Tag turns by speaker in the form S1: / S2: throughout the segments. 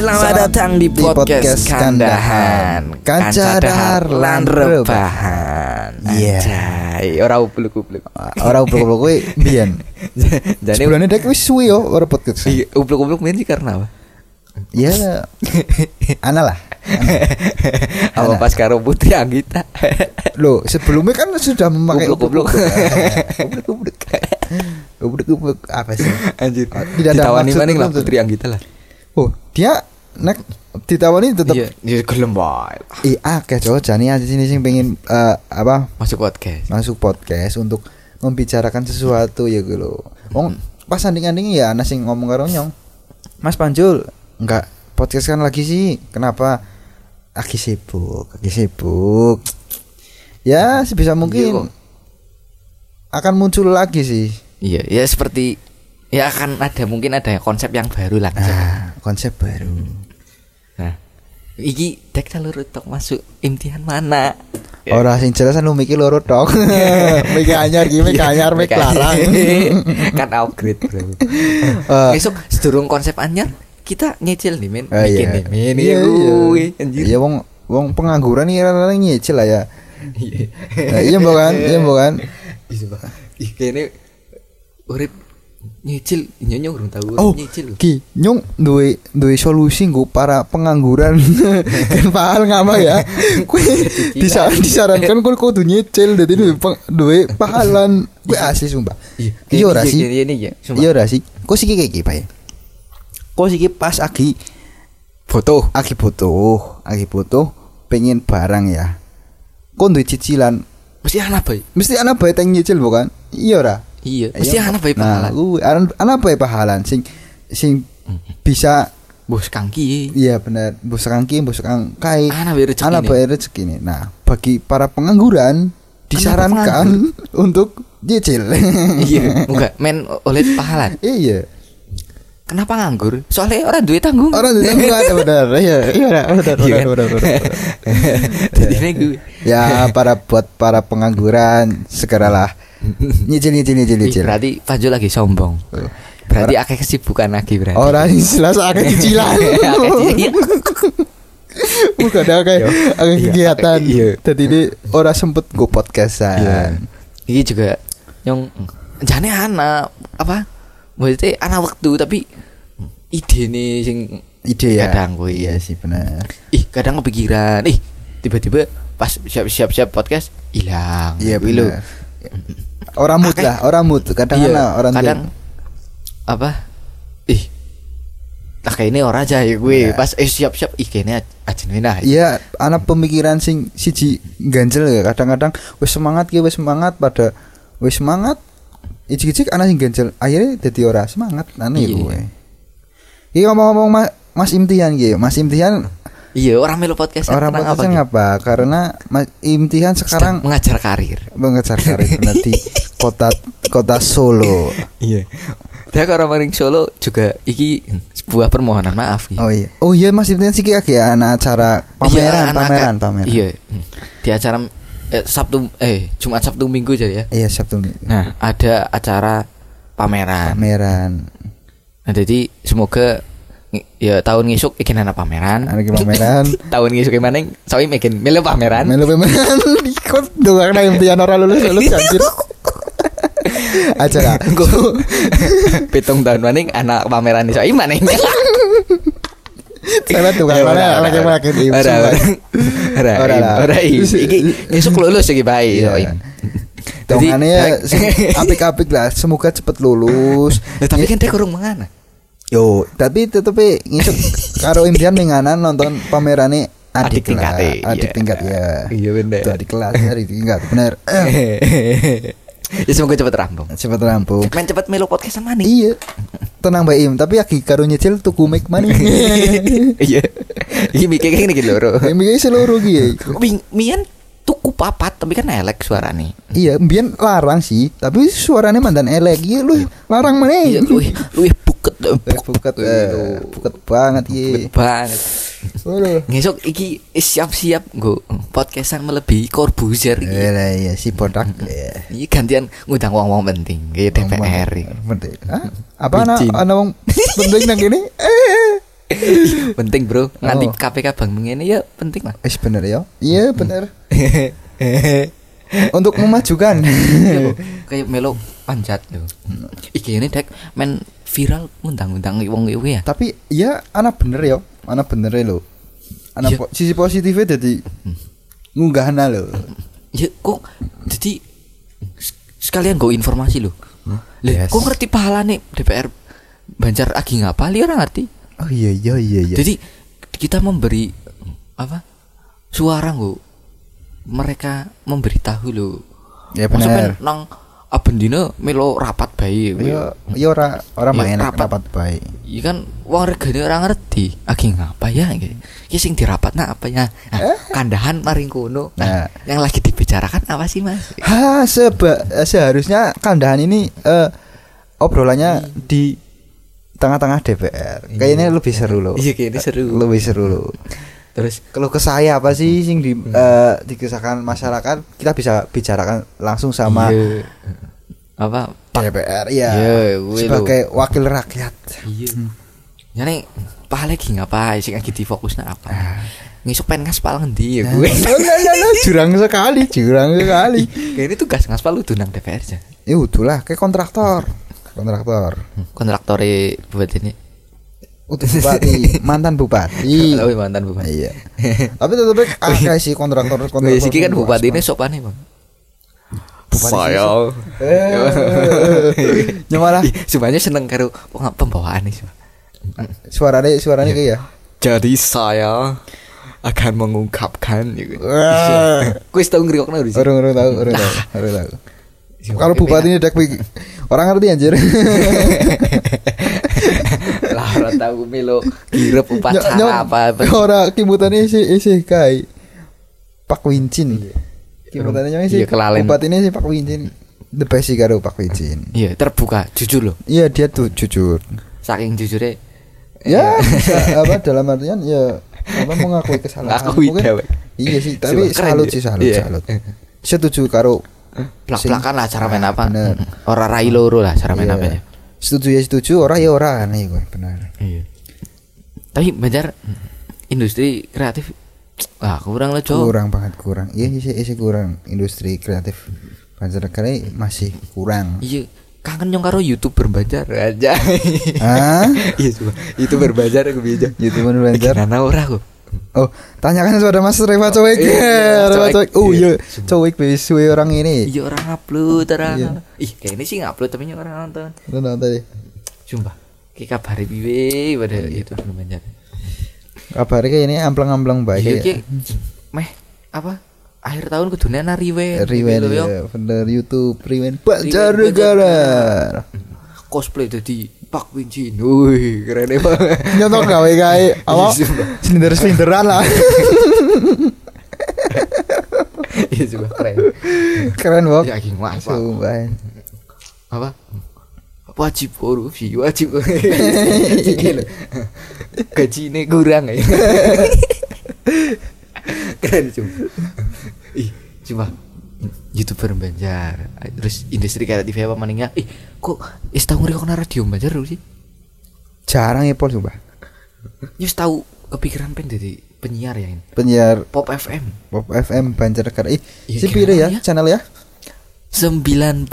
S1: Selamat datang di podcast Kandahan.
S2: Kanca dahar lan rebahan.
S1: Anjay, ora ubluk-ubluk.
S2: Ora ubluk-ubluk kuwi mbiyen.
S1: Jane
S2: Sebenarnya dek wis suwi yo ora podcast.
S1: iya, ubluk-ubluk mbiyen sih karena apa?
S2: Ya. Ana lah.
S1: Apa pas karo Putri Anggita.
S2: Loh, sebelumnya kan sudah memakai
S1: Ubluk-ubluk.
S2: Ubluk-ubluk. Ubluk-ubluk apa sih?
S1: Anjir.
S2: Tidak ada
S1: ditawani
S2: maksud
S1: maning lah
S2: tertentu.
S1: Putri Anggita lah.
S2: Oh, dia nek ditawani tetep
S1: Iya, gelem wae.
S2: akeh cowok jane aja sini sing pengen apa
S1: Masuk podcast.
S2: masuk podcast untuk membicarakan sesuatu ya gitu loh. Wong pas sanding-sanding ya ana sing ngomong karo nyong. Mas Panjul, enggak podcast kan lagi sih. Kenapa? Lagi sibuk. Ya, sebisa mungkin akan muncul lagi sih.
S1: Iya, ya seperti ya akan mungkin ada konsep yang baru lah.
S2: Konsep baru.
S1: Nah, iki dek telur tok masuk imtihan mana?
S2: Ora sing jelas lu mikir loro tok. Mikir anyar iki, mikir anyar, mikir larang.
S1: Kan upgrade, Bro. Besok sedurung konsep anyar kita nyicil nih men, bikin nih men.
S2: Iya,
S1: Anjir.
S2: iya wong pengangguran iki rada nyicil lah ya.
S1: Iya.
S2: Iya bukan?
S1: Ih kene urip nyicil nyonya urung tahu nyicil.
S2: Ki, nyong duwe solusi nggo para pengangguran. Kan pahal ngapa ya? Kuwi disarankan kudu nyicil dadi duwe pahalan. Kuwi asli sumpah. Iya ora sih? Iya ora sih? Kok sih iki Pak? Kok sih pas agi foto pengen barang ya. Kok duwe cicilan
S1: Mesti anak bae
S2: teng nyicil bukan? Iya ora?
S1: Iya, mesti anak bae pahalan.
S2: Anak bae pahalan sing bisa
S1: bos kangki.
S2: iya benar, bos kangkai.
S1: Anak bae
S2: rezeki. Nah, bagi para pengangguran disarankan untuk nyicil.
S1: Iya, enggak men oleh pahalan.
S2: Iya.
S1: Kenapa nganggur? Soalnya orang duit tanggung.
S2: Ada benar. Iya, benar.
S1: Jadi gue.
S2: Ya, buat para pengangguran segeralah nyicil.
S1: Berarti Panjo lagi sombong. Berarti akeh kesibukan lagi berarti.
S2: Orang jelas akeh cicilan. Bukan akeh kegiatan. Tadi ini orang sempet go podcastan.
S1: Ini juga yang jane anak apa? Maksudnya anak waktu tapi ide nih
S2: ide ya
S1: kadang gue
S2: iya sih benar
S1: kadang kepikiran tiba-tiba pas siap podcast hilang
S2: iya benar orang mood kadang
S1: kadang apa tak kayak ini orang aja ya gue pas siap kayaknya aja
S2: iya anak pemikiran sing siji ganjel ya kadang-kadang wis semangat pada wis semangat icik-icik anak sing ganjel akhirnya dadi ora semangat aneh gue. Iki ngomong-ngomong Mas Imtihan iki. Mas Imtihan
S1: iya orang melu podcast
S2: ngapa? Karena Mas Imtihan sekarang
S1: mengajar karir
S2: benar di kota Solo.
S1: Iya. Dia kalau maring Solo juga iki sebuah permohonan maaf gitu.
S2: Oh iya Mas Imtihan sih iki ana acara pameran.
S1: Iya. Di acara Jumat Sabtu Minggu aja ya.
S2: Iya Sabtu Minggu.
S1: Nah ada acara pameran. Nah jadi semoga ya tahun ngisuk ikin ana pameran. Tahun ngisuk gimana? Soalnya ikin melu pameran.
S2: Ikut doang nih impian orang lulus anjir. Acara.
S1: Pitung tahun maning anak pameran iso maning.
S2: Saya tukang mana lagi ora
S1: iki esuk lulus iki bae
S2: dongane apik-apik lah semoga cepet lulus
S1: tapi kan dia kurang mengana
S2: yo tapi tetep ngisuk karo impian menganan nonton pamerane adik tingkat ya
S1: iya bener
S2: adik kelas adik tingkat bener
S1: ya semoga cepet rampung main cepet melu podcast sama nih
S2: iya tenang Mbak Im tapi lagi karo nyicil tuku mic money
S1: iya iki mikir kene iki loro
S2: mikir seluruh iki
S1: mian tuku papat tapi kan elek suarane
S2: iya mbiyen larang sih tapi suarane mandan elek iya lu larang meneh
S1: iya lu buket
S2: banget iki
S1: banget ngesok iki siap-siap nggo podcastan melebihi Corbuzier iki
S2: iya si bodak
S1: iki gantian ngundang wong-wong penting kayak DPR
S2: penting apa ana wong penting nang kene
S1: Penting, Bro. Nganti KPK bang ngene ya penting lah.
S2: Bener ya. Iya, bener. Untuk memajukan.
S1: Kayak melo panjat lho. Iki ini dek men viral undang-undang wong kuwi ya.
S2: Tapi ya ana bener ya. Ana bener lho. Ana sisi positifnya jadi ngunggahna lho.
S1: Ya kok jadi sekalian go informasi lho. Lah kok ngerti pahalane DPR Banjar Agi ngapal ya ora ngerti.
S2: Oh iya.
S1: Jadi kita memberi apa? Suara nggo. Mereka memberitahu lho.
S2: Ya benar.
S1: Nang abendina melo rapat bae.
S2: Ya ora main rapat bae.
S1: Iya kan wong regane ora ngerti. Agi ngapa ya iki? Ki sing dirapatna apa ya? Kandahan maring kono. Nah, yang lagi dibicarakan apa sih, Mas?
S2: Seharusnya kandahan ini obrolannya di tengah-tengah DPR. Kayaknya lebih seru loh.
S1: Iya, kayaknya seru.
S2: Lebih seru loh. Terus kalau ke saya apa sih sing dikisahkan masyarakat, kita bisa bicarakan langsung sama
S1: apa
S2: DPR ya. Sebagai wakil rakyat.
S1: Iya. Jadi paling lagi ngapa sing lagi difokusnya apa? Ngisuk pen ngaspal ngendi ya gue.
S2: Jurang sekali.
S1: Kayak ini tugas ngaspal lu nang DPR aja.
S2: Ya udahlah, kayak kontraktor.
S1: Kontraktore buat ini.
S2: Bupati, mantan bupati.
S1: Oh, mantan bupati.
S2: Iya. Tapi tetep akeh sih kontraktor.
S1: Wis iki kan bupatine sopane, Bang. Saya.
S2: Nyamalah.
S1: Sebenarnya seneng karo pembawaan iki.
S2: Suarane kayak ya.
S1: Jadi saya akan mengungkapkan gitu. Kuis tau ngrikokno di sini.
S2: Orang tahu. Kalau bupati ini dek orang ngerti anjir.
S1: Lah ora tahu melo girep upacara apa.
S2: Ora kimutane isi kai Pak Wincin. Kimutane sih bupati ini si Pak Wincin. The best sih karo Pak Wincin.
S1: Iya, terbuka, jujur loh.
S2: Iya, dia tuh jujur.
S1: Saking jujurnya.
S2: Ya, apa dalam artian ya mengakui kesalahan. Mungkin iya sih, tapi salut. Setuju karo
S1: plak-plakan lah cara main apa. Ora rai loro lah cara main apa ya.
S2: Setuju, ora ya ora nih gue benar.
S1: Iya. Tapi Banjar industri kreatif kurang lah, Cok.
S2: Kurang. Iya sih kurang industri kreatif Banjar kali masih kurang.
S1: Iya, kangen nyong karo YouTuber Banjar aja. Iya coba. YouTuber Banjar aku bija.
S2: YouTuber Banjar.
S1: Nana ora kok.
S2: Oh, tanyakan kepada Mas Reva Cowek. Oh iya, Cowek suwe orang ini.
S1: Iya orang upload orang. Ih, kayak ini sih ngupload tapi orang nonton.
S2: Nonton tadi.
S1: Sumpah. Ki kabare piye pada itu Banjar.
S2: Kabare kayak ini amplang-amplang baik.
S1: Iya, meh apa? Akhir tahun kudune ana rewind
S2: ya, bener YouTube rewind Banjarnegara.
S1: Cosplay dadi Pak Wincin. Wih, keren banget.
S2: Nyotok gawe apa? Slinder-slinderan lah.
S1: Iya juga keren.
S2: Keren banget.
S1: Ya gini apa? Wajib korupsi, wajib. Gajine kurang ya. Keren cuma. Coba YouTuber Banjar, terus industri kreatif apa maningnya? Kok tahu ngrikokna radio Banjar dulu sih?
S2: Jarang ya Pol coba.
S1: Nyus tahu kepikiran pengen jadi penyiar ya ini.
S2: Penyiar
S1: Pop FM
S2: Banjarnegara. Si pire ya channel ya?
S1: 90.2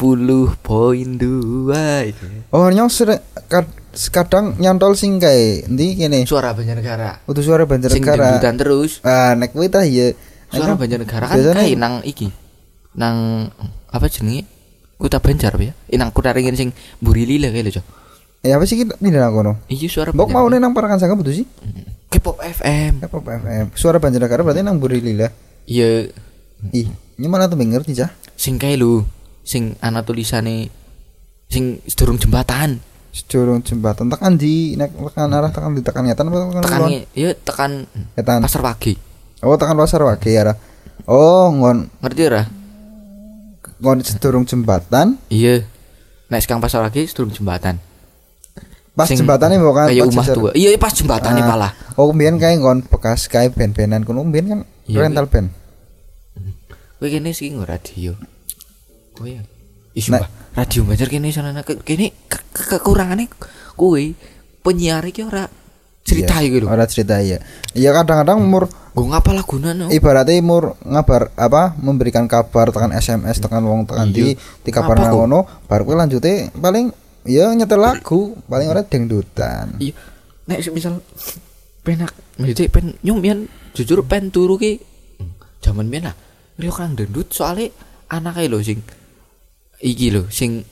S1: itu.
S2: Oh, nyong kadang nyantol sing kae endi kene?
S1: Suara Banjarnegara.
S2: Utuh suara Banjarnegara.
S1: Sing debutan terus.
S2: Nek kuwi tah ya.
S1: Suara Banjarnegara kan kae nang iki. Nang apa jenenge? Kuta Banjar apa ya? Nang kuta ringin sing Mburi Lila kae lho, Cok.
S2: Ya apa sih kita pindah nang kono?
S1: Iya suara
S2: Banjarnegara. Mbok mau nang Parakan Sangga putus sih?
S1: K-pop FM.
S2: Suara Banjarnegara berarti nang Mburi Lila.
S1: Iya.
S2: Ih, nyemana tuh ngerti cah?
S1: Sing kae lho, sing ana tulisane sing sedurung jembatan.
S2: Tekan di tekan arah tekan di tekan Ngetan apa
S1: tekan iya tekan Pasar Wage.
S2: Oh, tekan Pasar Wage ya. Oh,
S1: ngerti ora?
S2: Ngon sedurung jembatan.
S1: Iya. Nek sekarang Pasar Wage sedurung jembatan.
S2: Pas jembatane bukan
S1: kayak omah tua. Iya, pas jembatane malah.
S2: Oh, mbiyen kae ngon bekas kae band-bandan kono mbiyen kan rental band.
S1: Kowe kene sih nggo radio. Oh iya. Sumpah, radio Banjar kene sanana kene kekurangane kowe penyiar iki ora cerita gitu.
S2: Ora cerita ya. Iya kadang-kadang umur
S1: gue ngapa laguna no.
S2: Ibaratnya umur ngabar apa memberikan kabar tekan SMS tekan wong tekan di kabar ngono baru kowe lanjute paling ya nyetel lagu paling ora dangdutan.
S1: Iya. Nek misal penak mesti pen nyumian jujur pen turu ki jaman biyen lah. Riyo kan dangdut soalnya anake lho sing iki lho sing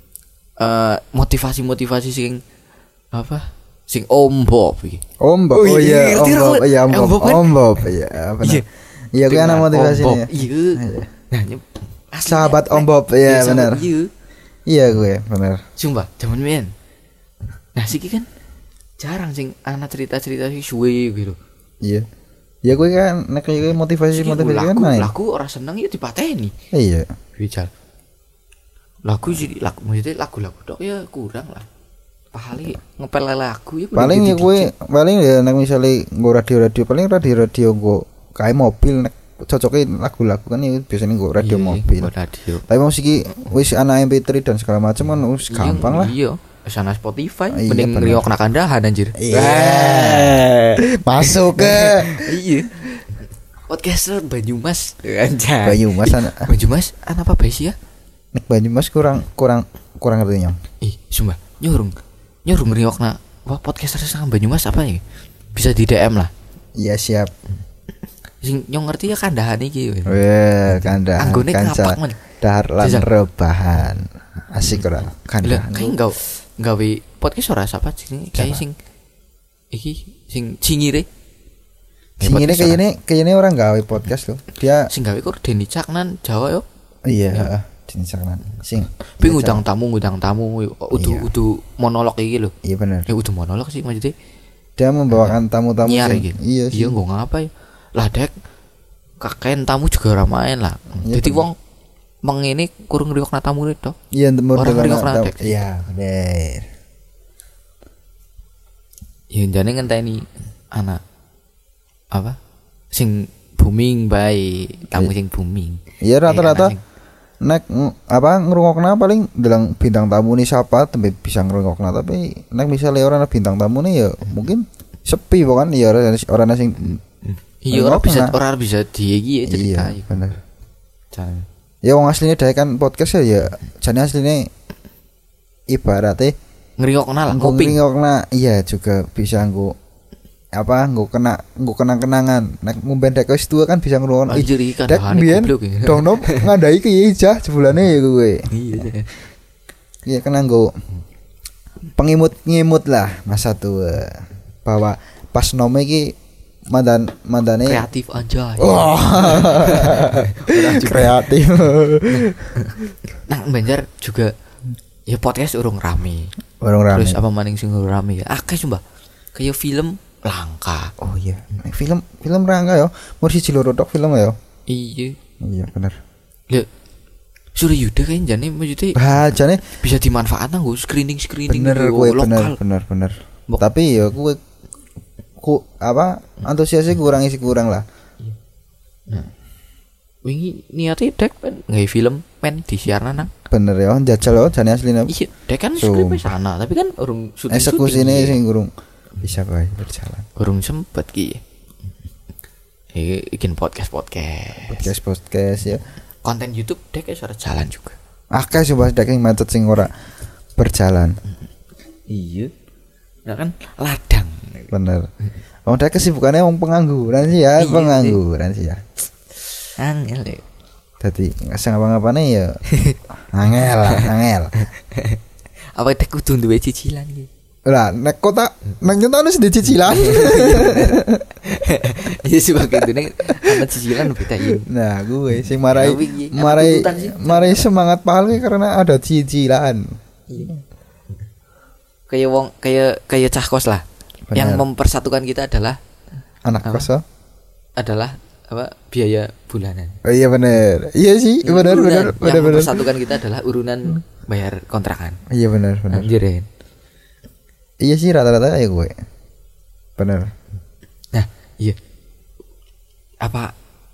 S1: motivasi sing apa? Sing Om Bob iki.
S2: Om Bob. Oh iya, Om Bob. Iya, benar. Iya, kuwi ana motivasinya.
S1: Iya. Nah,
S2: sahabat Om Bob, iya benar. Iya gue, benar.
S1: Sumpah, zaman men. Nah, siki kan jarang sing ana cerita-cerita sing suwe gitu.
S2: Iya. Ya gue kan nek motivasi kan main.
S1: Lagu ora seneng ya dipateni.
S2: Iya.
S1: Bical. Lagu maksudnya lagu-lagu tok ya kurang lah. Paling ngepel lagu ya
S2: paling ya gue paling ya nek misale nggo radio paling radio nggo kae mobil nek cocokin lagu-lagu kan ya biasanya nggo radio mobil.
S1: Radio.
S2: Tapi musik iki wis ana MP3 dan segala macam kan wis gampang lah.
S1: Iya, sana Spotify mending ngriok nak kandahan anjir.
S2: Iya. Masuk ke.
S1: Iya. Podcaster Banyumas anjay. Banyumas ana apa bae sih ya?
S2: Nek Banyumas kurang ngertinya.
S1: Ih, sumpah nyurung ngriokna podcaster sang Banyumas apa ya? Bisa di DM lah.
S2: Iya siap.
S1: Sing nyong ngerti ya kandahan iki.
S2: Weh, kandahan.
S1: Anggone ngapak men.
S2: Dahar lan rebahan. Asik ora kandahan.
S1: Kayak gawe podcast ora sapa sing kayak sing iki sing cingire.
S2: Cingire kayaknya orang gawe podcast loh. Dia
S1: sing gawe kok Denny Caknan Jawa yo.
S2: Iya, Denny Caknan. Sing
S1: ping udang tamu udu monolog iki lho.
S2: Iya benar.
S1: Ya udu monolog sih maksudnya.
S2: Dia membawakan tamu-tamu
S1: sing iya sih. Iya nggo ngapa ya. Lah dek kakek tamu juga ora main lah. Jadi wong mengini kurang ngriokna tamune tok.
S2: Iya
S1: orang ngriokna dek.
S2: Iya bener.
S1: Ya jane ngenteni anak apa? Sing booming bae, tamu sing booming.
S2: Iya rata-rata nek apa ngrungokna paling bilang bintang tamu nih siapa tapi bisa ngrungokna tapi nek misalnya orang bintang tamu nih ya mungkin sepi bukan ya orang sing
S1: iya orang bisa dia iki ya cerita.
S2: Iya bener. Ya wong asline dhewe kan podcast ya jane asline ibaratnya
S1: ngriokna lah kuping.
S2: Ngriokna iya juga bisa nggo apa nggo kenang-kenangan nek ngomben dek wis tua kan bisa ngrungokno dek mbiyen dono ngandai ki ijah jebulane ya kowe. Iya kena nggo pengimut lah masa tua bahwa pas nome iki mandane
S1: kreatif aja.
S2: Oh. Kreatif.
S1: Nah, Banjar juga ya podcast urung rame. Terus apa maning sing rame ya? Akeh sumpah. Kayak film langka.
S2: Oh iya. Film langka ya. Mur siji loro tok film ya.
S1: Iya.
S2: Iya bener.
S1: Ya Surya Yuda kan jane maksudnya
S2: jane
S1: bisa dimanfaatkan nggo screening
S2: bener
S1: lokal.
S2: Bener. Tapi ya ku apa antusiasnya kurang lah.
S1: Nah, wingi niate dek kan nggak film men disiarna nang.
S2: Bener ya, jajal loh jane asline.
S1: Iya, dek kan skrip sana, tapi kan urung syuting.
S2: Eksekusinya sing urung bisa bae berjalan.
S1: Urung sempet ki. Bikin podcast
S2: ya.
S1: Konten YouTube dek wis ora jalan juga.
S2: Akeh sih bahas dek macet sing ora berjalan.
S1: Iya. Nah kan ladang.
S2: Bener. Wong dek kesibukannya wong pengangguran sih ya,
S1: Angel ya.
S2: Dadi sing ngapa-ngapane ya angel.
S1: Apa dek kudu duwe cicilan iki?
S2: Lah nek kota nang nyentak wis duwe cicilan.
S1: Iya sebagai dene ana cicilan betain.
S2: Nah, gue sing marai semangat pahal karena ada cicilan.
S1: Iya. Kayak cah kos lah. Benar. Yang mempersatukan kita adalah
S2: anak kos
S1: adalah apa biaya bulanan.
S2: Oh iya benar. Iya sih, benar.
S1: Yang mempersatukan kita adalah urunan bayar kontrakan.
S2: Iya benar.
S1: Anjirin.
S2: Iya sih rata-rata ya gue. Benar.
S1: Nah, iya. Apa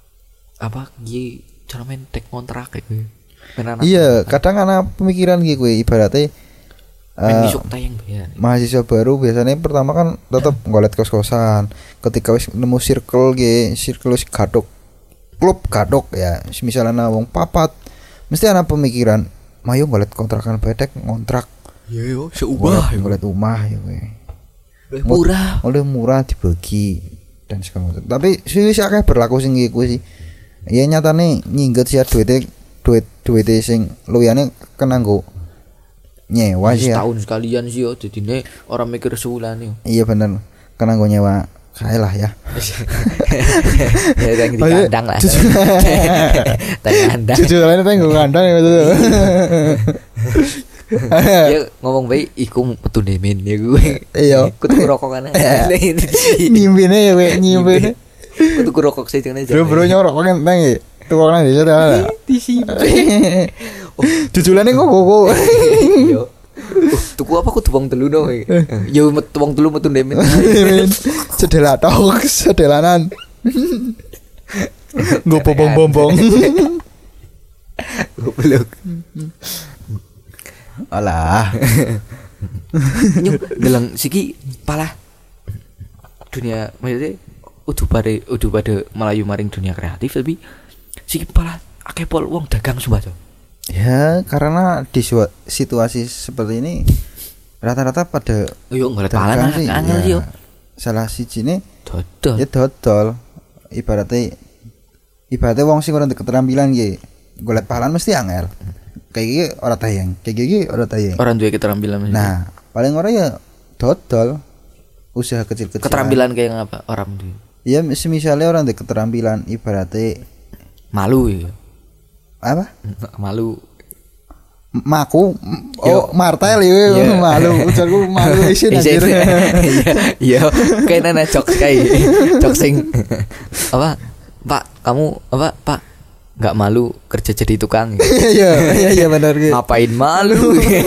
S1: cara main tek kontrak gitu.
S2: Iya, kadang ana pemikiran gitu gue ibaratnya mahasiswa baru biasanya pertama kan tetap ngolet kos-kosan. Ketika wis nemu circle wis gadok klub gadok ya, misalnya wong papat mesti ana pemikiran mayo ngolet kontrakan bedek ngontrak.
S1: Ya yo seubah
S2: ngolet omah ya kowe. Murah dibagi dan segala macam. Tapi sih akeh berlaku sing iku sih. Ya nyatane nyingget sih duit sing luyane kena nggo nyewa sih ya.
S1: Setahun sekalian sih yo dadine orang mikir sebulan yo.
S2: Iya bener. Kena nggo nyewa kae lah ya.
S1: Ya yang di kandang lah. Kandang.
S2: Jujur lain nggo kandang ya betul.
S1: Ya ngomong baik iku metu nemen ya gue.
S2: Iya.
S1: Kudu rokok kan.
S2: Nyimpine ya kowe nyimpine.
S1: Kudu rokok sih jane.
S2: Bro nyorok kan nang ya. Tukang nang desa ta. Disimpen. Jujulane kok.
S1: Yo. Tuku apa kudu wong telu no. Yo metu wong telu metu nemen. Sedelanan.
S2: Nggo bombong-bombong.
S1: Goblok.
S2: Alah.
S1: Nyuk delang siki palah dunia maksudnya udah pada melayu maring dunia kreatif tapi siki palah akeh pol wong dagang sumpah.
S2: Ya karena di situasi seperti ini rata-rata pada
S1: yo ngolet palan angel yo.
S2: Salah sijine
S1: dodol.
S2: Ya dodol. Ibaratnya wong sing ora keterampilan iki golet palan mesti angel. Kayak gini orang tayang.
S1: Orang duwe keterampilan maksudnya.
S2: Nah, paling ora ya dodol usaha kecil-kecil.
S1: Keterampilan kayak apa orang duwe?
S2: Ya misalnya orang duwe keterampilan ibaratnya
S1: malu ya.
S2: Apa?
S1: Malu.
S2: Maku martel ya malu. Ujarku malu isin anjir.
S1: Iya, kayaknya jokes sing apa? Pak, kamu apa, Pak? Enggak malu kerja jadi tukang.
S2: Iya benar gitu.
S1: Ngapain malu?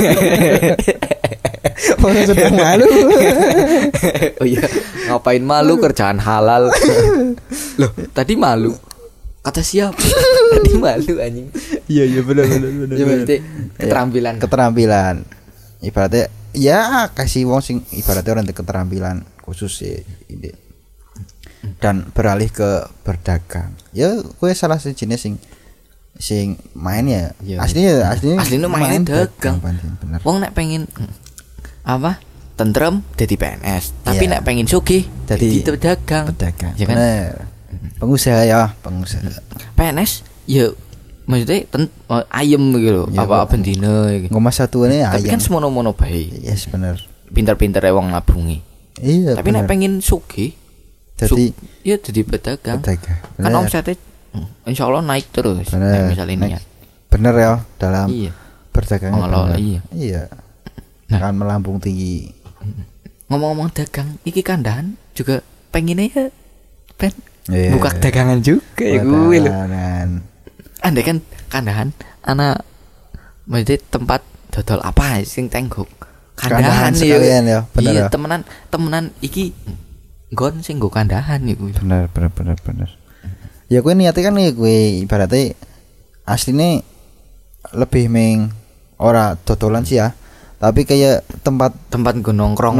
S2: Orang sedang malu.
S1: Oh iya, ngapain malu kerjaan halal. Loh, tadi malu. Kata siapa? Tadi malu anjing.
S2: Iya benar.
S1: Ya berarti
S2: keterampilan. Ibaratnya ya kasih wong sing ibaratnya orang keterampilan khusus sih ini. Dan beralih ke berdagang. Ya gue salah satu jenis sing main ya. Aslinya
S1: main dagang. Bener. Wong nek pengen apa? Tentrem jadi PNS, tapi nek pengen sugih jadi pedagang.
S2: Ya kan? Pengusaha.
S1: PNS ya maksudnya ayem gitu ya, apa bendina iki.
S2: Ngomong satuane ayem.
S1: Tapi kan semono-mono bae.
S2: Yes bener.
S1: Pinter-pinter wong nabungi.
S2: Iya.
S1: Tapi nek pengen sugih jadi pedagang. Kan omsetnya insyaallah naik terus. Misalnya niat.
S2: Bener ya dalam berdagang. Iya. Kan melambung tinggi.
S1: Ngomong-ngomong dagang, iki kandahan juga pengennya ya buka dagangan juga ya gue lho. Andai kan kandahan anak maksudnya tempat dodol apa sing tenggok. Kandahan
S2: ya. Bener.
S1: Iya, temenan iki gon sing nggo kandahan iku.
S2: Bener. Ya kowe niate kan kowe ibaratnya asline lebih meng ora dodolan sih ya. Tapi kayak tempat
S1: nongkrong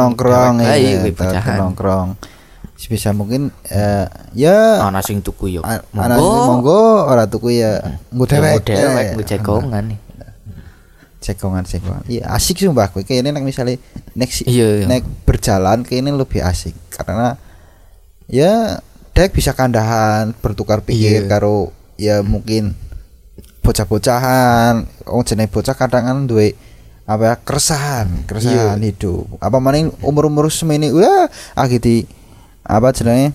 S2: bisa mungkin ya
S1: ana sing tuku yo.
S2: Monggo ora tuku ya nggo
S1: dewek nggo cekongan.
S2: Cekongan. Iya asik sumpah kowe kayaknya nek misale nek berjalan kayaknya lebih asik karena ya dek bisa kandahan bertukar pikir karo ya mungkin bocah-bocahan jenenge bocah kadang kan duwe apa ya keresahan hidup apa maning umur semene di apa jenenge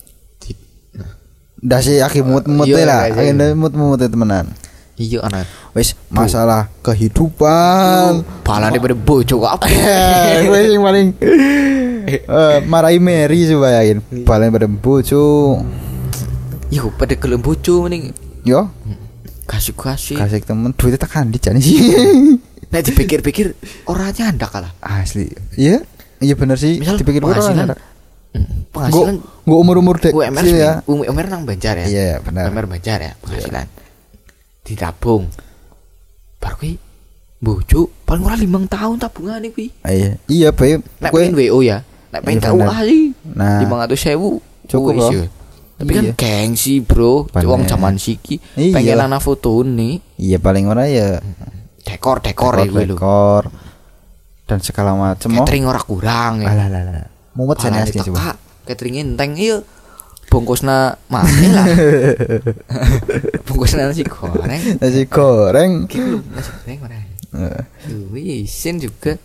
S2: ndase mut-mut lah mut-mut temenan.
S1: Iya anak
S2: wis masalah kehidupan
S1: palane pada bojo kok apa
S2: wis sing paling marahi Mary coba yakin palane pada bojo
S1: yo pada gelem bojo mending
S2: yo
S1: kasih
S2: temen duitnya tekan dijane sih.
S1: Nek dipikir-pikir ora nyandak kalah
S2: asli iya bener sih dipikir
S1: penghasilan
S2: gua umur dek
S1: sih ya umur nang Banjar ya
S2: iya benar
S1: umur Banjar ya penghasilan ditabung baru kuwi bojo paling ora 5 tahun tabungane kuwi.
S2: Iya bae
S1: Nek pengen WO ya. Nek pengen KUA sih.
S2: Nah
S1: 500.000
S2: cukup loh.
S1: Tapi kan gengsi bro, wong zaman siki pengen ana fotone.
S2: Iya paling ora ya
S1: dekor ya kuwi lho.
S2: Dekor dan segala macam.
S1: Catering ora kurang ya.
S2: Alah. Mumet jane asli coba.
S1: Catering enteng iya. Bungkusna mana lah. Bungkusna nasi goreng.
S2: Nasi goreng
S1: ora. Isin juga.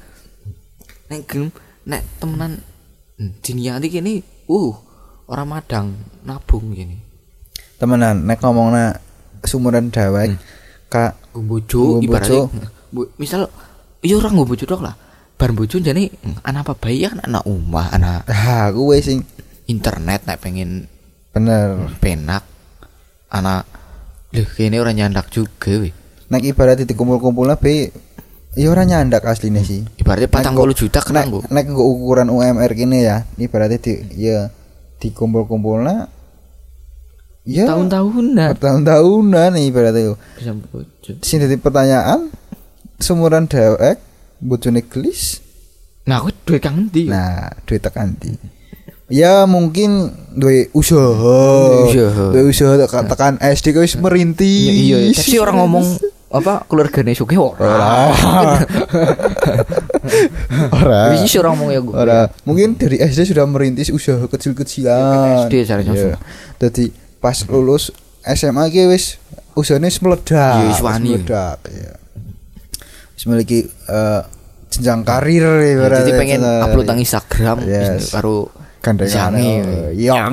S1: Nek temenan diniati kene orang madang nabung gini.
S2: Temenan nek ngomongna sumuran dewek kak
S1: bojo ibaratnya misal iya orang nggo bojo tok lah. Bar bojo jane anak apa bayi kan anak omah, anak
S2: kuwe sing
S1: internet nek pengen
S2: bener
S1: penak anak lho kene ora nyandak juga we.
S2: Nek ibarat dikumpul-kumpulna be ya ora nyandak asline sih.
S1: Ibaratnya 40 juta kena nggo.
S2: Nek nggo ukuran UMR kene ya, ibaratnya dikumpul-kumpulna ya tahun-tahunan ibaratnya. Bisa bojo. Sing dadi pertanyaan sumuran dhewek bojone gelis.
S1: Nah, aku duwe kang ndi?
S2: Nah, duwe tekan ndi? Ya mungkin duwe usaha tekan SD wis merintis.
S1: Iya, tapi orang ngomong apa keluargane sugih ora. Wis orang ngomong ya gue.
S2: Ora. Mungkin dari SD sudah merintis usaha kecil-kecilan.
S1: SD caranya langsung.
S2: Dadi pas lulus SMA ki wis usahane meledak.
S1: Wis
S2: meledak ya. Wis memiliki jenjang karir ya.
S1: Jadi pengen upload nang Instagram karo
S2: gandengane. Iya.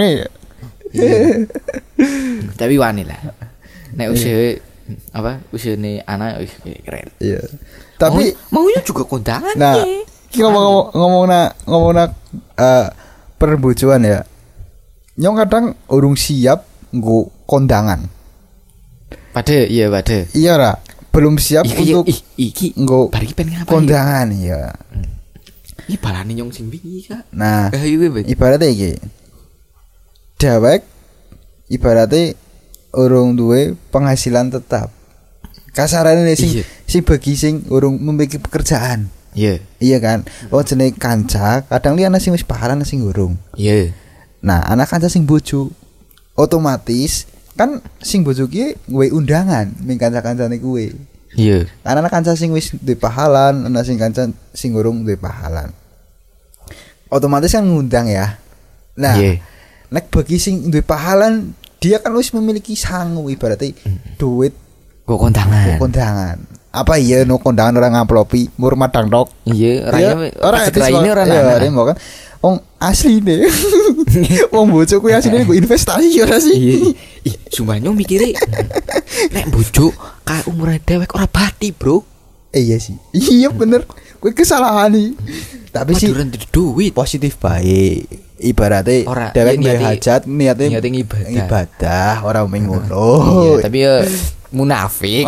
S1: Tapi wani lah. Nek usahane anak wis keren.
S2: Iya. Tapi
S1: maunya juga kondangan.
S2: Nah, iki ngomongna perbojoan ya. Nyong kadang urung siap nggo kondangan. Pade. Iya ra, belum siap untuk
S1: iki
S2: nggo
S1: bari pengen ngapain?
S2: Kondangan ya.
S1: Iki balane nyong sing wingi Kak.
S2: Nah, ibaratnya iki. Dewek ibaratnya urung duwe penghasilan tetap. Kasarane sing bagi sing urung memiliki pekerjaan. Iya kan? Jenenge kanca, kadang li ana sing wis pahalan sing urung. Nah, anak kanca sing bojo otomatis kan sing bojo ki duwe undangan ning kanca-kancane kuwe. Karena anak kanca sing wis duwe pahalan, ana sing kanca sing urung duwe pahalan. Otomatis kan ngundang ya. Nah, nek bagi sing duwe pahalan dia kan wis memiliki sangu ibaratnya duit kondangan. Apa iya no kondangan orang ngamplopi mur madang tok. Ora ini ora kan. Wong asline. Wong bojo kuwi asline nggo investasi ora sih.
S1: Sumpahnya mikire nek bojo kae umure dewek ora bati, Bro.
S2: Iya sih. Iya bener. Kuwi kesalahan nih. Tapi sih
S1: duit
S2: positif baik. Ibaratnya dewek duwe hajat niate ibadah ora mung ngono.
S1: Tapi ya munafik.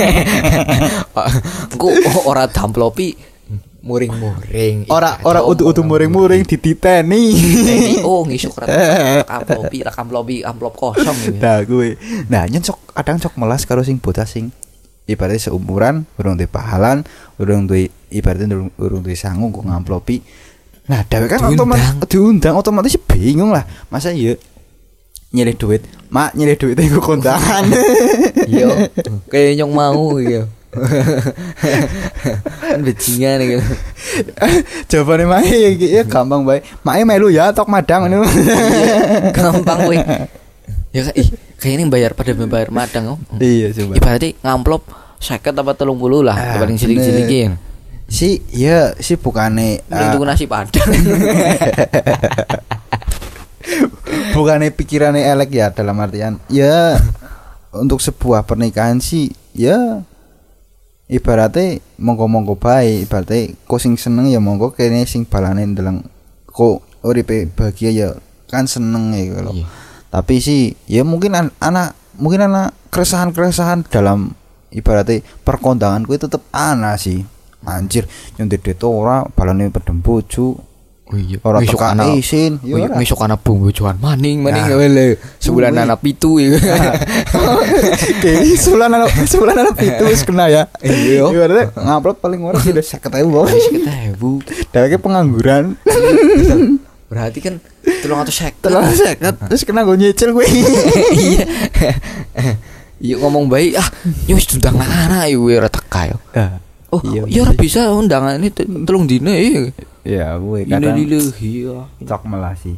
S1: Engko ora damplopi muring-muring.
S2: Ora utuh muring-muring dititeni.
S1: Ngisuk amplop kosong gitu.
S2: Nah, gue. Nah, kadang sok melas karo sing bocah sing ibaratnya seumuran, urung duwe pahalan, urung duwe ibaratnya urung duwe sangu kok ngamplopi. Nah, dhewek kan diundang otomatis bingung lah. Masa ya nyilih duit, mak nyilih duit iku kondangan.
S1: Iya, kayak nyong mau gitu. Kan bajingan gitu.
S2: Jawabane mae ya gampang bae. Mae melu ya tok madang ngono.
S1: Gampang kowe. Ya kayaknya bayar madang.
S2: Iya coba.
S1: Ibaratnya ngamplop 50 apa 30 lah, paling cilik-cilikin.
S2: Si bukane
S1: tuku nasi padang.
S2: Bukane pikirane elek ya dalam artian ya untuk sebuah pernikahan sih ya ibaratnya monggo bae, ibaratnya kok sing seneng ya monggo kene sing balane ndeleng kok uripe bahagia ya kan seneng ya kalau. Tapi sih ya mungkin anak keresahan dalam ibaratnya perkondangan kuwi tetep ana sih. Anjir nyondet ora balane pedem bojo
S1: Oh iya.
S2: Ora teka isin.
S1: Oh iya, ngesuk ana bojoan maning wele. Sebulan anak pitu ya.
S2: Sebulan anak pitu wis kena ya. Iya. Ibaratnya ngupload paling ora sudah 50.000.
S1: 50.000.
S2: Dheweke pengangguran.
S1: Berarti kan 350.
S2: Terus kena go nyicil kowe.
S1: Iya. Iya ngomong baik yo wis diundang anak yo ora teka yo. Oh, ya ora bisa undangan ini telung dina ya.
S2: Ya, gue kadang
S1: iya.
S2: Cok melasi.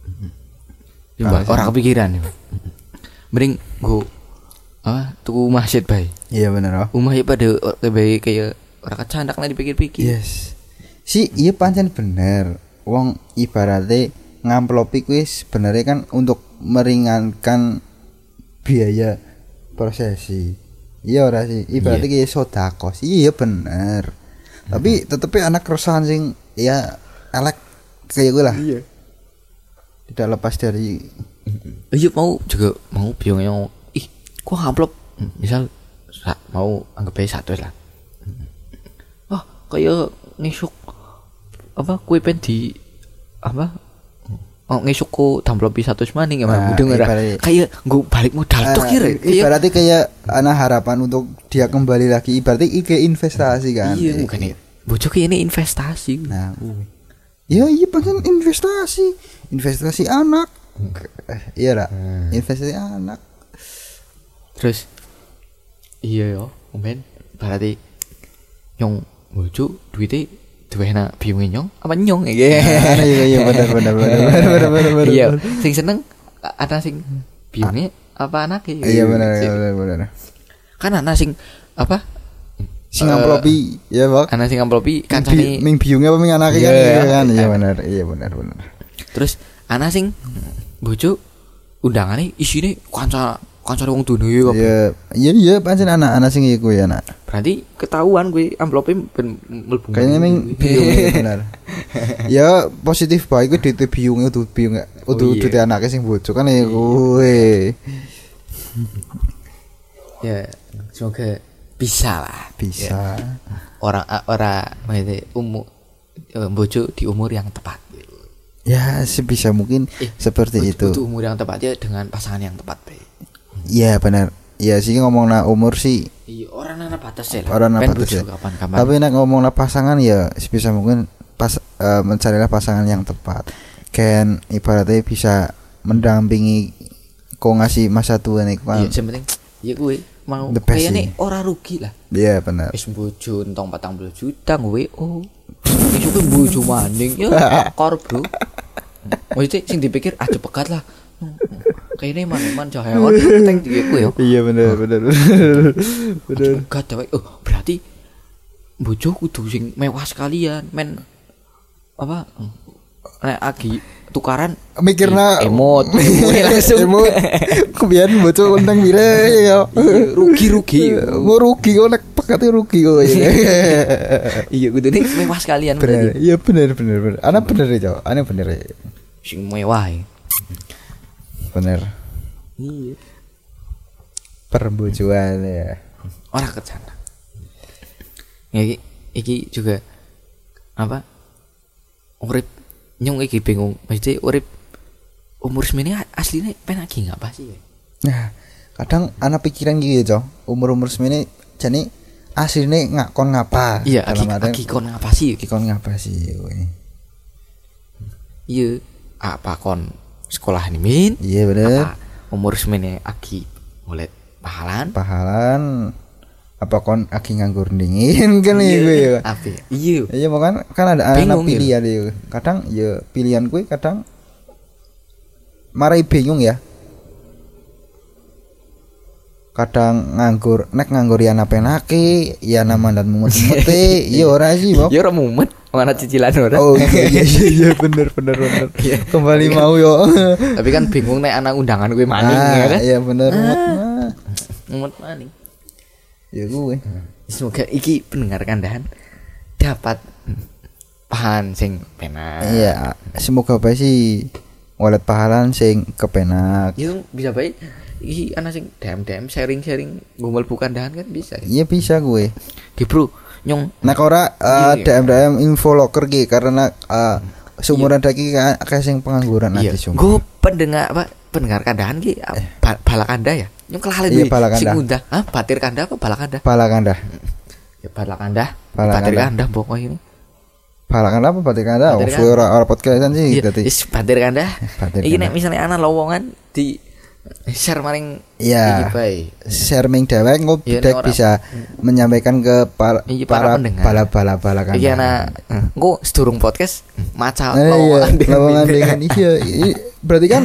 S1: Ora kepikiran. Mending go tuku masjid bae.
S2: Iya bener.
S1: Rumah ya pada kayak ora kecandak lah dipikir-pikir.
S2: Yes. Iya pancen bener. Wong ibaratnya ngamplopi kuwi sebenarnya kan untuk meringankan biaya prosesi. Iya ora sih. Ibaratnya kayak sedekah. Iya bener. Tapi tetepnya anak keresahan sing ya elek kayak gue lah. Iya. Tidak lepas dari
S1: iya mau biong yang kok amplop misal mau anggap aja 100 lah. Kayak ngesuk kue pen di ngesuk ko damplopi 100 maning emang kayak gue balik modal tuh kira.
S2: Ibaratnya kayak anak harapan untuk dia kembali lagi. Ibaratnya kayak investasi kan.
S1: Iya bukan ya. Bocok ini investasi.
S2: Nah, iya pengen investasi anak. Iya lah, investasi anak.
S1: Terus iya yo, men berarti nyong bocok duitnya duwena biunge nyong apa nyong
S2: iya benar.
S1: Iya, sing seneng ana sing biunge apa anak
S2: iya benar.
S1: Kan ana sing
S2: sing amplopi ya Bang.
S1: Ana sing amplopi kancane
S2: ming biunge apa ming anake kan iya benar.
S1: Terus ana sing bojo undangane isine kancane wong dunya
S2: ya. Iya pancen anak sing iku ya nak.
S1: Berarti ketahuan gue amplope ben mlebu.
S2: Kayaknya ming biunge benar. Ya positif bae kuwi duit biunge udah duit anake sing bojo kan ya kowe.
S1: Ya semoga bisa. Ya. Orang umur bojo di umur yang tepat.
S2: Ya sebisa mungkin seperti itu.
S1: Itu umur yang tepat ya dengan pasangan yang tepat.
S2: Iya benar. Ya sih ngomongna umur sih.
S1: Iya orang ana batas ya.
S2: Orang ana batas ya. Tapi nek ngomongna pasangan ya sebisa mungkin mencarilah pasangan yang tepat. Kan ibaratnya bisa mendampingi kok ngasih masa tua nih kan.
S1: Iya penting ya gue mau kayaknya ora rugi lah.
S2: Iya benar.
S1: Wis bojo entong 40 juta gue isu ke bojo maning ya akor bro. Maksudnya sing dipikir aja pekat lah. Kayaknya man cahaya teng diku ya.
S2: Iya benar.
S1: Pekat cewek. Berarti bojo kudu sing mewah sekalian men nek agi tukaran
S2: mikirna
S1: emot langsung
S2: emot kebian bojo undang mire ya
S1: rugi
S2: mau rugi kok nek pekate rugi kok
S1: iya kudune mewah sekalian
S2: berarti iya bener ana bener ya ana bener
S1: sing mewah
S2: bener
S1: iya
S2: perbojoan ya
S1: ora kecana iki juga urip nyong iki bingung mesti urip umur semene asline pengen lagi ngapa sih?
S2: Nah, kadang ana pikiran gitu ya, umur semene jane asline ngakon ngapa?
S1: Iya, lagi kon ngapa sih?
S2: Kon ngapa sih kowe?
S1: Iya, apa kon sekolah ini min?
S2: Iya bener.
S1: Apa umur semene lagi mulai pahalan?
S2: Apa kon aki nganggur dingin kan iku ya. Iya makan kan ada anak pilihan ya. Kadang ya pilihan kuwi kadang marai bingung ya. Kadang nganggur ya napenake, ya namandan mumet-mumete, ya ora sih, Bok.
S1: Ya ora mumet, mana cicilan ora.
S2: Oh iya bener. Kembali mau yo.
S1: Tapi kan bingung nek anak undangan kuwi maning ya kan.
S2: Iya bener
S1: mumet maning.
S2: Ya gue.
S1: Semoga iki pendengar kandahan dapat pahan sing penak.
S2: Iya, semoga bae sih walet pahalan sing kepenak.
S1: Yo bisa bae iki ana sing DM sharing ngomel bukan kandahan kan bisa.
S2: Iya bisa gue.
S1: Ki bro, nyong
S2: nek ora DM info locker ki karena seumuran daki akeh sing pengangguran
S1: iya.
S2: ati sumpah.
S1: Gue pendengar kandahan ki balakanda ya. Nyong kelalen
S2: Iya, balakanda.
S1: sing undang. Batir kanda apa balakanda?
S2: Balakanda.
S1: Ya balakanda.
S2: Balakanda.
S1: Batir kanda pokoknya ini.
S2: Balakanda apa batir kanda? Oh,
S1: Batir
S2: ora podcastan sih
S1: Iya,
S2: dadi.
S1: is batir kanda.
S2: Batir
S1: Iki
S2: kanda.
S1: nek misale ana lowongan di share maring
S2: Iya.
S1: iki bae.
S2: Sharming dewek
S1: Iya,
S2: Dek
S1: nek ora-
S2: bisa menyampaikan ke
S1: Iya,
S2: para
S1: para pendengar.
S2: bala-bala
S1: Iki ana engko sedurung podcast maca
S2: iya, lowongan dengan iya. Berarti kan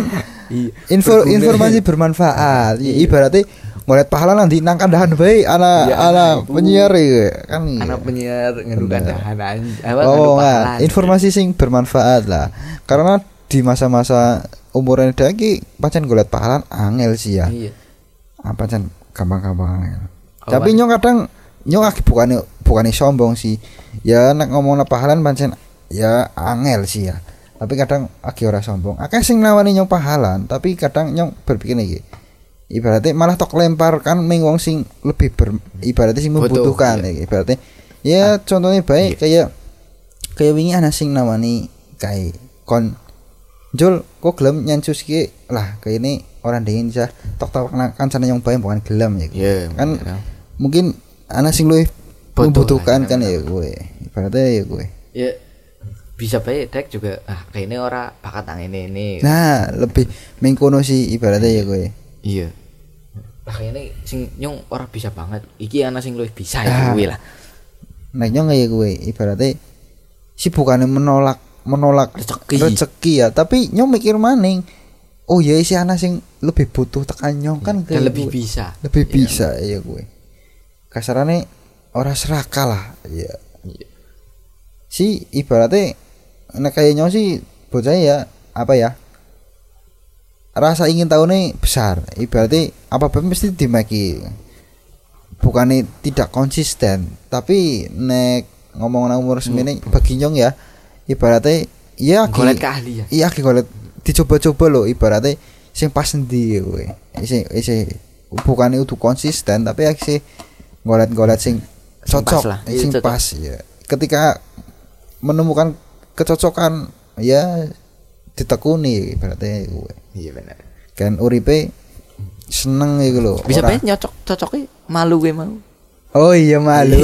S2: informasi bermanfaat. Ibaratnya ngeliat pahala nanti nang kandahan bae anak penyiar ya kan.
S1: Anak penyiar ngedu kandahan
S2: Oh, informasi sing bermanfaat lah. Karena di masa-masa umuran daki pancen golek pahala angel sih ya.
S1: Iya.
S2: Pancen gampang-gampang angel.
S1: Oh,
S2: Tapi nyong kadang nyong bukannya sombong sih. Ya nek ngomongna pahala pancen ya angel sih ya. Tapi kadang ora sombong. Akeh sing nawani nyong pahalan, tapi kadang nyong berpikir iki. Ibaratnya malah tok lempar kan ning wong sing lebih ibaratnya sing membutuhkan
S1: iya.
S2: Ibaratnya ya contohnya baik kayak wingi ana sing nawani kayak kon Jul kok gelem nyansus ki lah kayak ini orang dingin sah tok kancane yang bae bukan gelem ya.
S1: Iya,
S2: Kan
S1: bener.
S2: mungkin ana sing luwih
S1: Butuh
S2: membutuhkan
S1: lah,
S2: kan
S1: bener.
S2: ya gue. Ibaratnya ya gue.
S1: Ya bisa bae dek juga kayaknya ora bakat nang ini.
S2: Nah, lebih mengkono sih ibaratnya ya gue.
S1: Iya. Lah kayaknya sing nyong ora bisa banget. Iki ana sing luwih bisa ya kuwi lah.
S2: Nek nyong ya gue ibaratnya si bukannya menolak rezeki ya, tapi nyong mikir maning. Oh ya si ana sing lebih butuh tekan nyong kan
S1: Dan lebih
S2: gue.
S1: bisa.
S2: Lebih
S1: Iya.
S2: bisa ya gue. Kasarane ora serakah lah ya.
S1: Iya.
S2: Si ibaratnya nek kayak nyong sih bocah ya apa ya? Rasa ingin tahu nih besar. Ibaratnya apa-apa mesti dimaki. Bukannya tidak konsisten, tapi nek ngomong umur semene bagi nyong ya ibaratnya ya
S1: Golek keahlian.
S2: iya golek dicoba-coba loh ibaratnya sing pas endi kowe. Isi bukannya itu konsisten tapi sih golet-golet sing cocok,
S1: lah.
S2: sing
S1: Iya, cocok.
S2: pas ya. Ketika menemukan kecocokan ya ditekuni ibaratnya kowe.
S1: Iya benar.
S2: Kan uripe seneng iku lho.
S1: Bisa
S2: ora-
S1: bae cocoknya malu gue mau.
S2: Oh iya malu.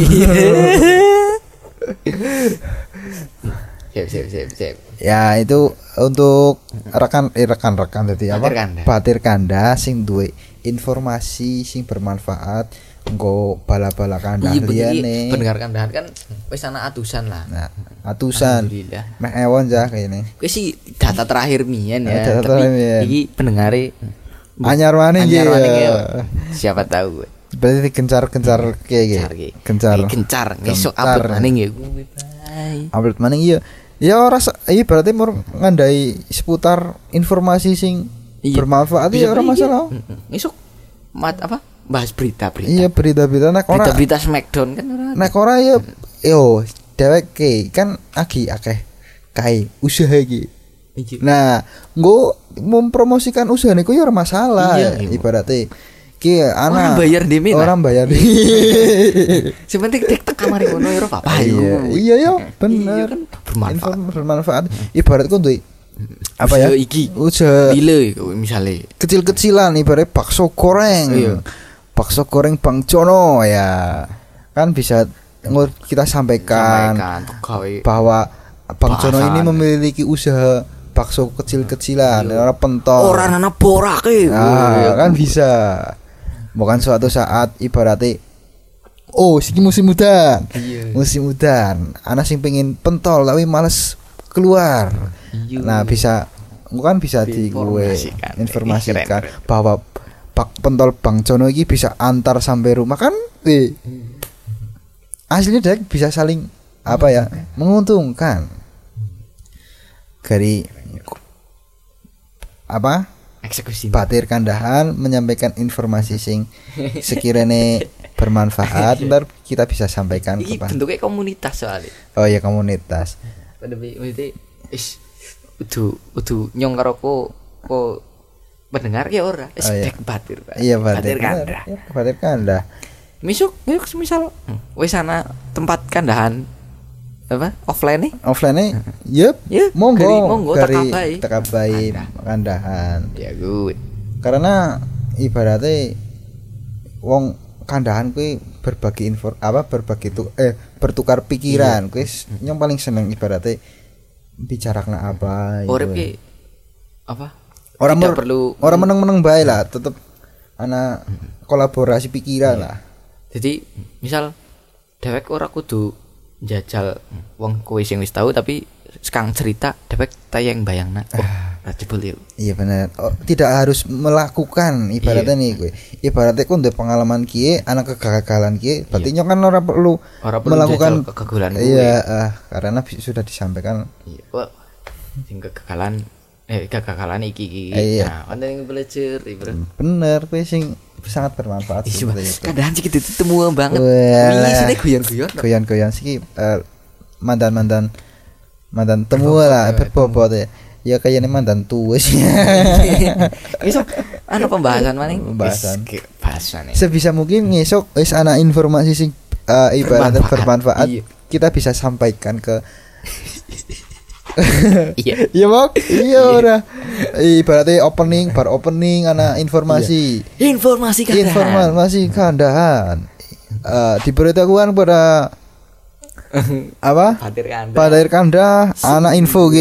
S1: Siap.
S2: Ya itu untuk rekan tadi apa?
S1: Batir kanda.
S2: Batir kanda sing duwe informasi sing bermanfaat engko bala-bala kanda
S1: Iya begini
S2: liyane.
S1: pendengar kandahan kan wis ana atusan lah.
S2: Nah, atusan.
S1: Alhamdulillah.
S2: Meh ewon jah kayaknya.
S1: Kuwi sih data terakhir mian ya.
S2: Data
S1: Tapi
S2: terakhir mien.
S1: iki pendengare
S2: Anyar maning
S1: anyar
S2: ya.
S1: maning ya. Siapa tahu gue.
S2: Berarti gencar kayak
S1: Ki.
S2: Gencar.
S1: Gencar. Ngesuk
S2: Gencar.
S1: upload maning ya kuwi bae.
S2: Upload maning iya. Ya ora iya berarti mur ngandai seputar informasi sing
S1: Iya.
S2: bermanfaat
S1: Bisa
S2: ya ora
S1: bae iki.
S2: masalah.
S1: Ngesuk bahas berita-berita.
S2: Iya berita-berita nek ora
S1: Berita-berita Smackdown kan ora.
S2: nek ora ya yo dhewek kan akeh kae usaha iki.
S1: Iki.
S2: Nah, nggo mempromosikan usaha niku ya ora masalah.
S1: Iya, iya.
S2: Ibaratnya ki
S1: Orang
S2: ana
S1: bayar demi lah.
S2: orang bayar.
S1: Sing penting tek kamar ngono ya ora apa-apa
S2: Iya, iya ya,
S1: Iya
S2: bener.
S1: kan bermanfaat.
S2: Bermanfaat. Ibarat ku duwe apa ya?
S1: Usaha iki.
S2: Usaha
S1: Lile misalnya.
S2: kecil-kecilan ibarat bakso goreng.
S1: Iya.
S2: Bakso goreng Bang Jono ya. Kan bisa kita sampaikan
S1: gawe
S2: bahwa Bang Jono ini
S1: bahasan.
S2: memiliki usaha bakso kecil-kecilan, orang pentol.
S1: orang anak borake.
S2: Nah, kan bisa. Bukan suatu saat ibaratnya oh, siki musim udan.
S1: Iya.
S2: Musim udan, anak sing pengen pentol tapi males keluar.
S1: Iya.
S2: Nah, bisa bukan bisa di gue
S1: Informasikan.
S2: informasikan
S1: Keren.
S2: bahwa pentol Bang Jono ini bisa antar sampai rumah kan. Aslinya dia bisa saling apa ya? Menguntungkan. Dari apa?
S1: Eksekusi.
S2: Batir kandahan menyampaikan informasi sing sekiranya bermanfaat ntar kita bisa sampaikan
S1: Iki
S2: ke
S1: bentuknya komunitas soalnya.
S2: oh ya komunitas
S1: Tapi udu nyong karo ko pendengar ya ora.
S2: Oh, iya.
S1: Dek batir. Pak.
S2: iya batir
S1: kandah.
S2: ya, batir kandah
S1: Misal wis ana tempat kandahan apa offline nih
S2: yep
S1: ya
S2: monggo
S1: dari
S2: tekabai kandahan
S1: ya good
S2: karena ibaratnya wong kandahan kuwi berbagi bertukar pikiran kuwi yang paling seneng ibaratnya bicarakna apa
S1: urip ki apa
S2: orang perlu orang meneng-meneng bae lah tetep ana kolaborasi pikiran lah
S1: jadi misal dewek ora kudu jajal wong kowe sing wis tahu tapi sekarang cerita dewek tayang bayangna jebul yuk.
S2: Iya benar. Tidak harus melakukan ibaratnya nih gue. Ibaratnya ku ndek pengalaman kiye, anak kegagalan kiye, berarti kan ora perlu melakukan
S1: kegagalan.
S2: Iya, karena sudah disampaikan.
S1: Iya. Wah, sing kegagalan iki.
S2: Nah,
S1: kan yang belajar Bro.
S2: Bener, kuwi sing sangat bermanfaat.
S1: Kadang sih kita temu banget. Wingi sini
S2: guyon-guyon sih mantan temu lah berbobot ya. Ya kayaknya mantan tua sih.
S1: Besok pembahasan maning.
S2: Pembahasan.
S1: Bahasan.
S2: Sebisa mungkin besok wis ana informasi sing ibaratnya bermanfaat. Kita bisa sampaikan ke
S1: Iya.
S2: Iya, Mak. Iya ora. Ibaratnya bar opening ana informasi. Informasi kandahan. Diberitahukan pada apa? Padir Kanda, anak info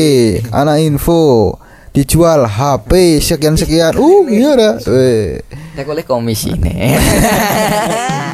S2: dijual HP sekian. Iya dah.
S1: Nek oleh komisi nih.